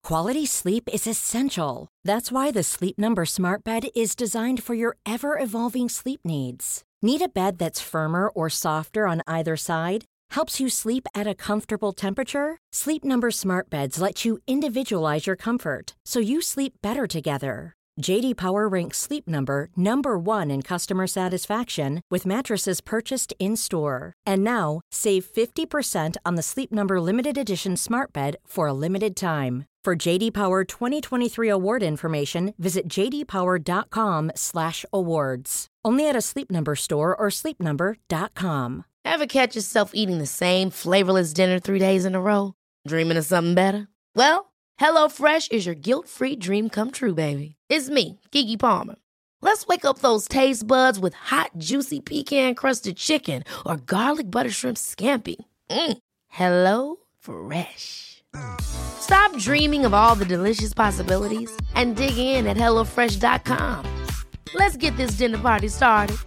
Quality sleep is essential. That's why the Sleep Number Smart Bed is designed for your ever-evolving sleep needs. Need a bed that's firmer or softer on either side? Helps you sleep at a comfortable temperature? Sleep Number Smart Beds let you individualize your comfort, so you sleep better together. J.D. Power ranks Sleep Number #1 in customer satisfaction with mattresses purchased in-store. And now, save 50% on the Sleep Number Limited Edition Smart Bed for a limited time. For J.D. Power 2023 award information, visit jdpower.com/awards. Only at a Sleep Number store or sleepnumber.com. Ever catch yourself eating the same flavorless dinner 3 days in a row? Dreaming of something better? Well, HelloFresh is your guilt-free dream come true, baby. It's me, Keke Palmer. Let's wake up those taste buds with hot, juicy pecan-crusted chicken or garlic butter shrimp scampi. Hello Fresh. Stop dreaming of all the delicious possibilities and dig in at HelloFresh.com. Let's get this dinner party started.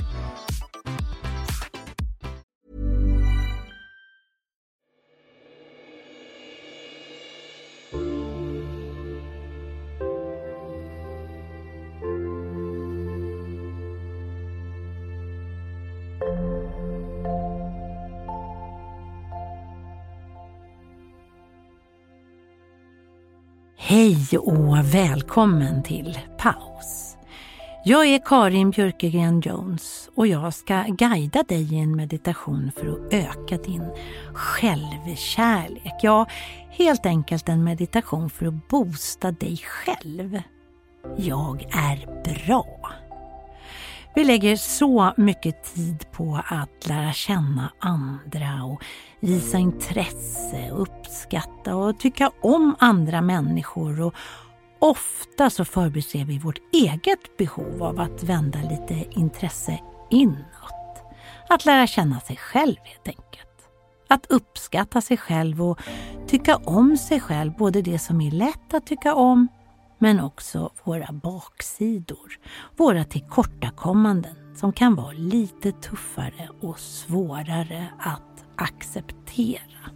Hej och välkommen till Paus. Jag är Karin Björkegren Jones och jag ska guida dig i en meditation för att öka din självkärlek. Ja, helt enkelt en meditation för att boosta dig själv. Jag är bra. Vi lägger så mycket tid på att lära känna andra och visa intresse, uppskatta och tycka om andra människor, och ofta så förbiser vi vårt eget behov av att vända lite intresse inåt. Att lära känna sig själv helt enkelt. Att uppskatta sig själv och tycka om sig själv, både det som är lätt att tycka om men också våra baksidor, våra tillkortakommanden som kan vara lite tuffare och svårare att acceptera.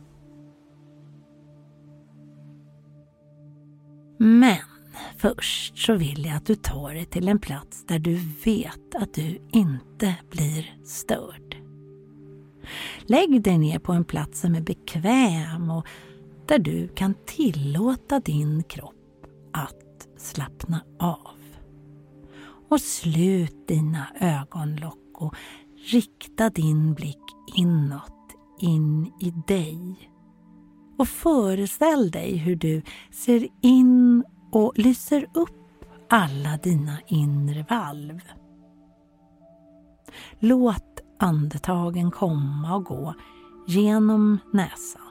Men först så vill jag att du tar dig till en plats där du vet att du inte blir störd. Lägg dig ner på en plats som är bekväm och där du kan tillåta din kropp att slappna av. Och slut dina ögonlock och rikta din blick inåt, in i dig. Och föreställ dig hur du ser in och lyser upp alla dina inre valv. Låt andetagen komma och gå genom näsan.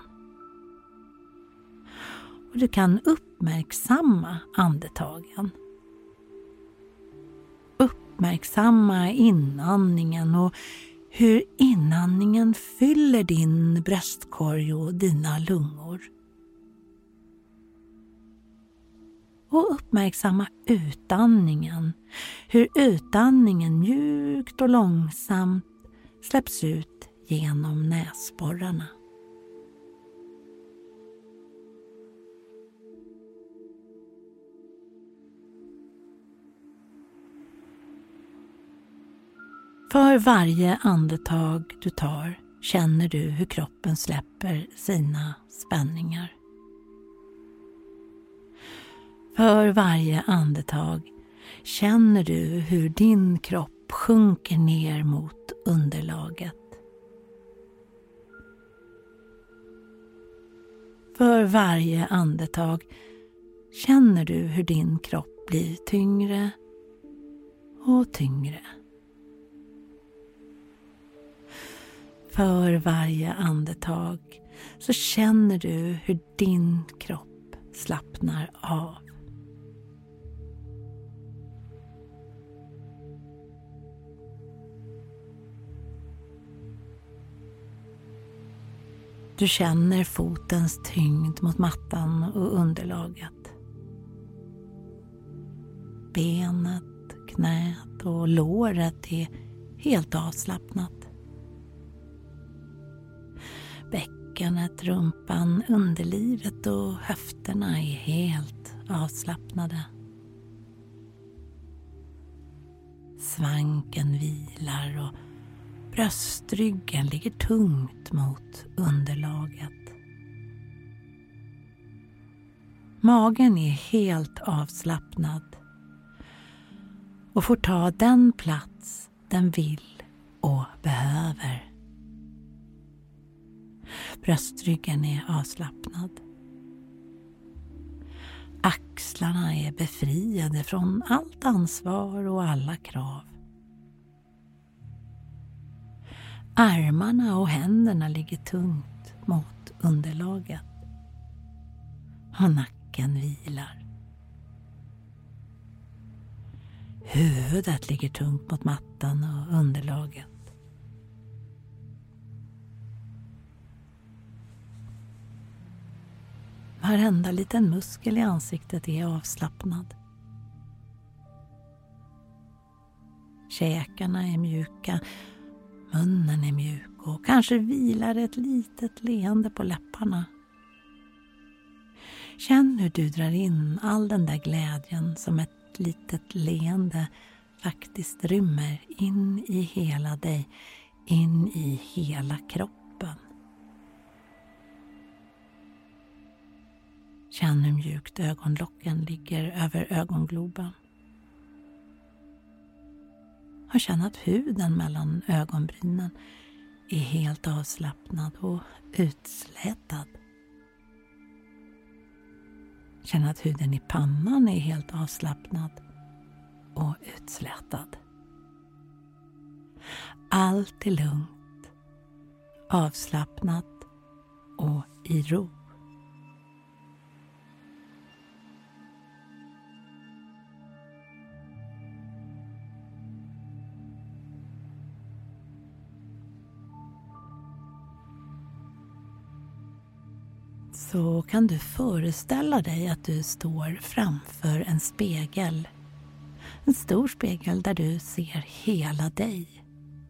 Och du kan uppmärksamma andetagen. Uppmärksamma inandningen och hur inandningen fyller din bröstkorg och dina lungor. Och uppmärksamma utandningen, hur utandningen mjukt och långsamt släpps ut genom näsborrarna. För varje andetag du tar känner du hur kroppen släpper sina spänningar. För varje andetag känner du hur din kropp sjunker ner mot underlaget. För varje andetag känner du hur din kropp blir tyngre och tyngre. För varje andetag så känner du hur din kropp slappnar av. Du känner fotens tyngd mot mattan och underlaget. Benet, knät och låret är helt avslappnat. bäckenet, rumpan, underlivet och höfterna är helt avslappnade. Svanken vilar och bröstryggen ligger tungt mot underlaget. Magen är helt avslappnad och får ta den plats den vill och behöver. Bröstryggen är avslappnad. Axlarna är befriade från allt ansvar och alla krav. Armarna och händerna ligger tungt mot underlaget. Och nacken vilar. Huvudet ligger tungt mot mattan och underlaget. Varenda liten muskel i ansiktet är avslappnad. Käkarna är mjuka, munnen är mjuk och kanske vilar ett litet leende på läpparna. Känn hur du drar in all den där glädjen som ett litet leende faktiskt rymmer in i hela dig, in i hela kroppen. Känn hur mjukt ögonlocken ligger över ögongloben. Och känn att huden mellan ögonbrynen är helt avslappnad och utslätad. Känn att huden i pannan är helt avslappnad och utslätad. Allt är lugnt, avslappnat och i ro. Så kan du föreställa dig att du står framför en spegel. En stor spegel där du ser hela dig.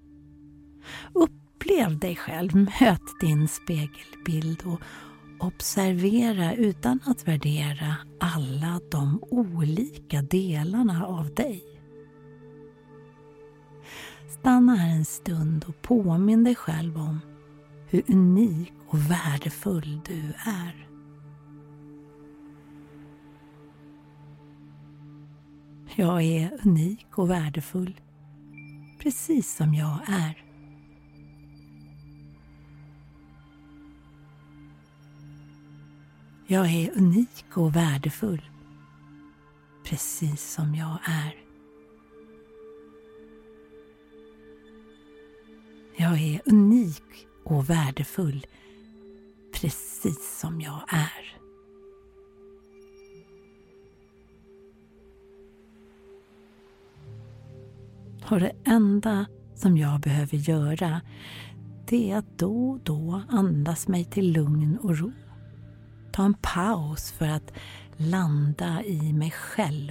Upplev dig själv, möt din spegelbild och observera utan att värdera alla de olika delarna av dig. Stanna här en stund och påminn dig själv om hur unik och värdefull du är. Jag är unik och värdefull, precis som jag är. Jag är unik och värdefull, precis som jag är. Jag är unik och värdefull, precis som jag är. Och det enda som jag behöver göra, det är att då och då andas mig till lugn och ro. Ta en paus för att landa i mig själv.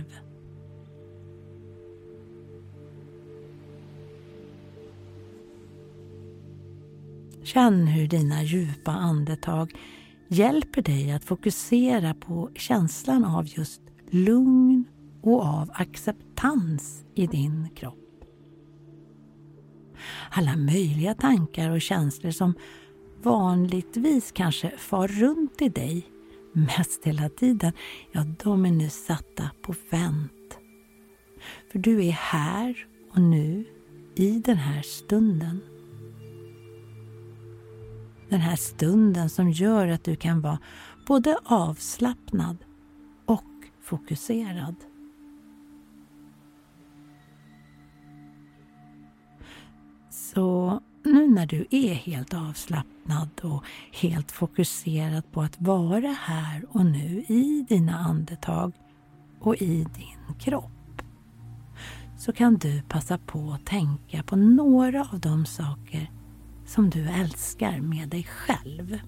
Känn hur dina djupa andetag hjälper dig att fokusera på känslan av just lugn och av acceptans i din kropp. Alla möjliga tankar och känslor som vanligtvis kanske far runt i dig mest hela tiden, ja, de är nu satta på vänt. För du är här och nu i den här stunden. Den här stunden som gör att du kan vara både avslappnad och fokuserad. Så nu när du är helt avslappnad och helt fokuserad på att vara här och nu i dina andetag och i din kropp, så kan du passa på att tänka på några av de saker som du älskar med dig själv.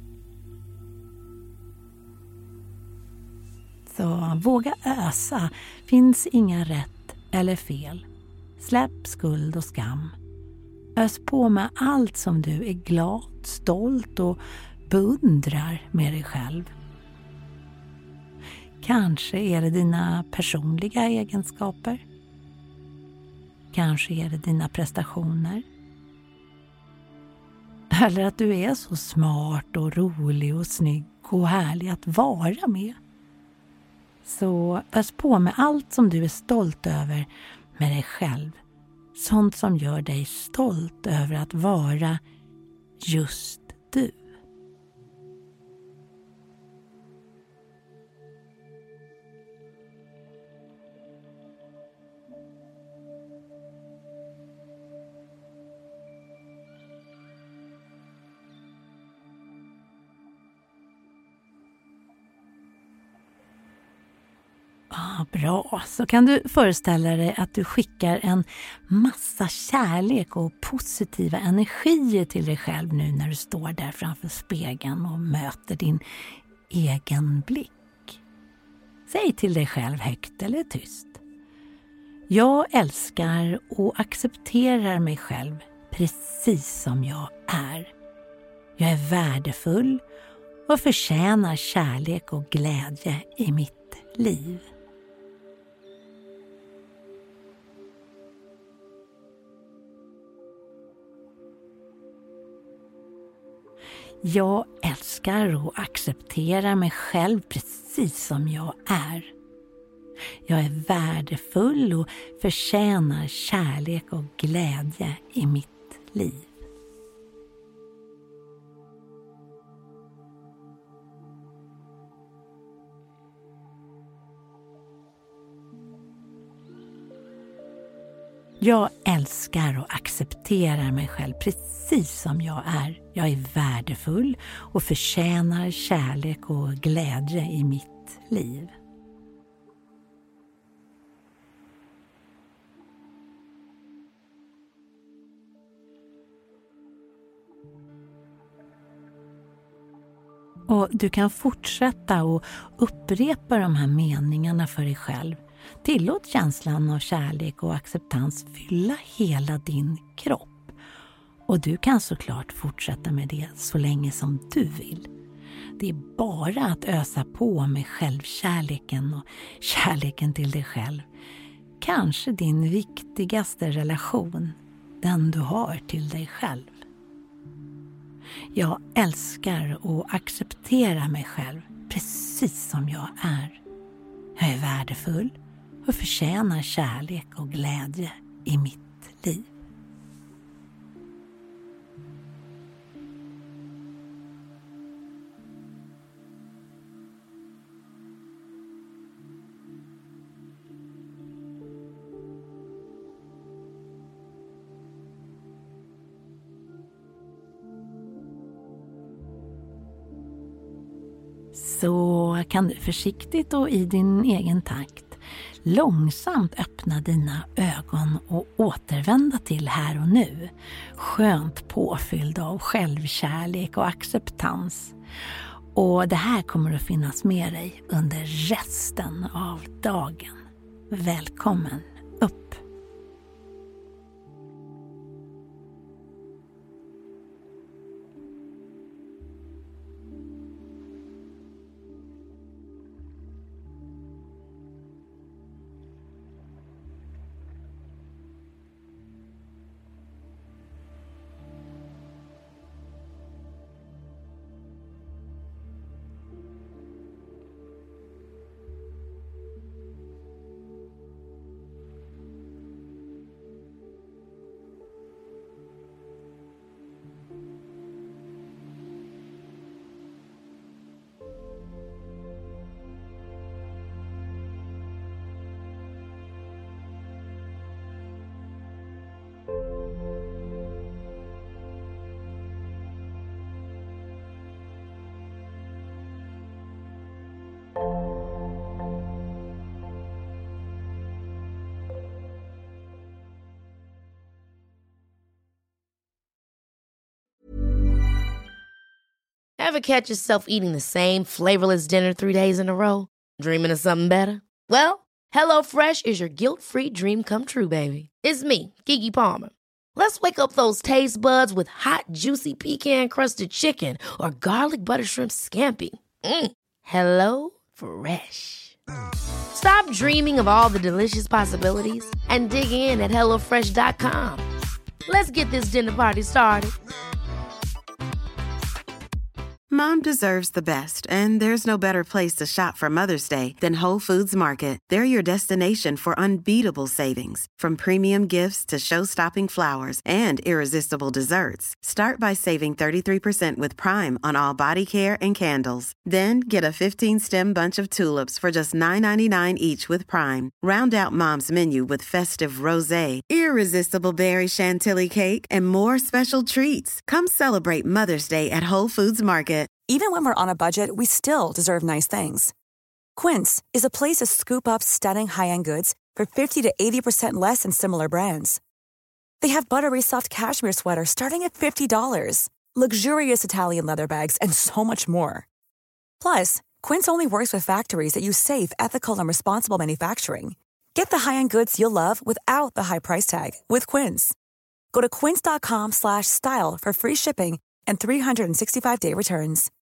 Så våga ösa, finns inga rätt eller fel. Släpp skuld och skam. Ös på med allt som du är glad, stolt och beundrar med dig själv. Kanske är det dina personliga egenskaper. Kanske är det dina prestationer. Eller att du är så smart och rolig och snygg och härlig att vara med. Så ös på med allt som du är stolt över med dig själv. Sånt som gör dig stolt över att vara just du. Bra, så kan du föreställa dig att du skickar en massa kärlek och positiva energier till dig själv nu när du står där framför spegeln och möter din egen blick. Säg till dig själv högt eller tyst. Jag älskar och accepterar mig själv precis som jag är. Jag är värdefull och förtjänar kärlek och glädje i mitt liv. Jag älskar och accepterar mig själv precis som jag är. Jag är värdefull och förtjänar kärlek och glädje i mitt liv. Jag älskar och accepterar mig själv precis som jag är. Jag är värdefull och förtjänar kärlek och glädje i mitt liv. Och du kan fortsätta och upprepa de här meningarna för dig själv. Tillåt känslan av kärlek och acceptans fylla hela din kropp. Och du kan såklart fortsätta med det så länge som du vill. Det är bara att ösa på med självkärleken och kärleken till dig själv. Kanske din viktigaste relation, den du har till dig själv. Jag älskar och accepterar mig själv precis som jag är. Jag är värdefull och förtjänar kärlek och glädje i mitt liv. Så kan du försiktigt och i din egen takt långsamt öppna dina ögon och återvända till här och nu. Skönt påfylld av självkärlek och acceptans. Och det här kommer att finnas med dig under resten av dagen. Välkommen upp! Ever catch yourself eating the same flavorless dinner 3 days in a row? Dreaming of something better? Well, HelloFresh is your guilt-free dream come true, baby. It's me, Keke Palmer. Let's wake up those taste buds with hot, juicy pecan-crusted chicken or garlic butter shrimp scampi. Hello Fresh. Stop dreaming of all the delicious possibilities and dig in at HelloFresh.com. Let's get this dinner party started. Mom deserves the best, and there's no better place to shop for Mother's Day than Whole Foods Market. They're your destination for unbeatable savings, from premium gifts to show-stopping flowers and irresistible desserts. Start by saving 33% with Prime on all body care and candles. Then get a 15-stem bunch of tulips for just $9.99 each with Prime. Round out Mom's menu with festive rosé, irresistible berry chantilly cake, and more special treats. Come celebrate Mother's Day at Whole Foods Market. Even when we're on a budget, we still deserve nice things. Quince is a place to scoop up stunning high-end goods for 50 to 80% less than similar brands. They have buttery soft cashmere sweaters starting at $50, luxurious Italian leather bags, and so much more. Plus, Quince only works with factories that use safe, ethical, and responsible manufacturing. Get the high-end goods you'll love without the high price tag with Quince. Go to quince.com/style for free shipping and 365-day returns.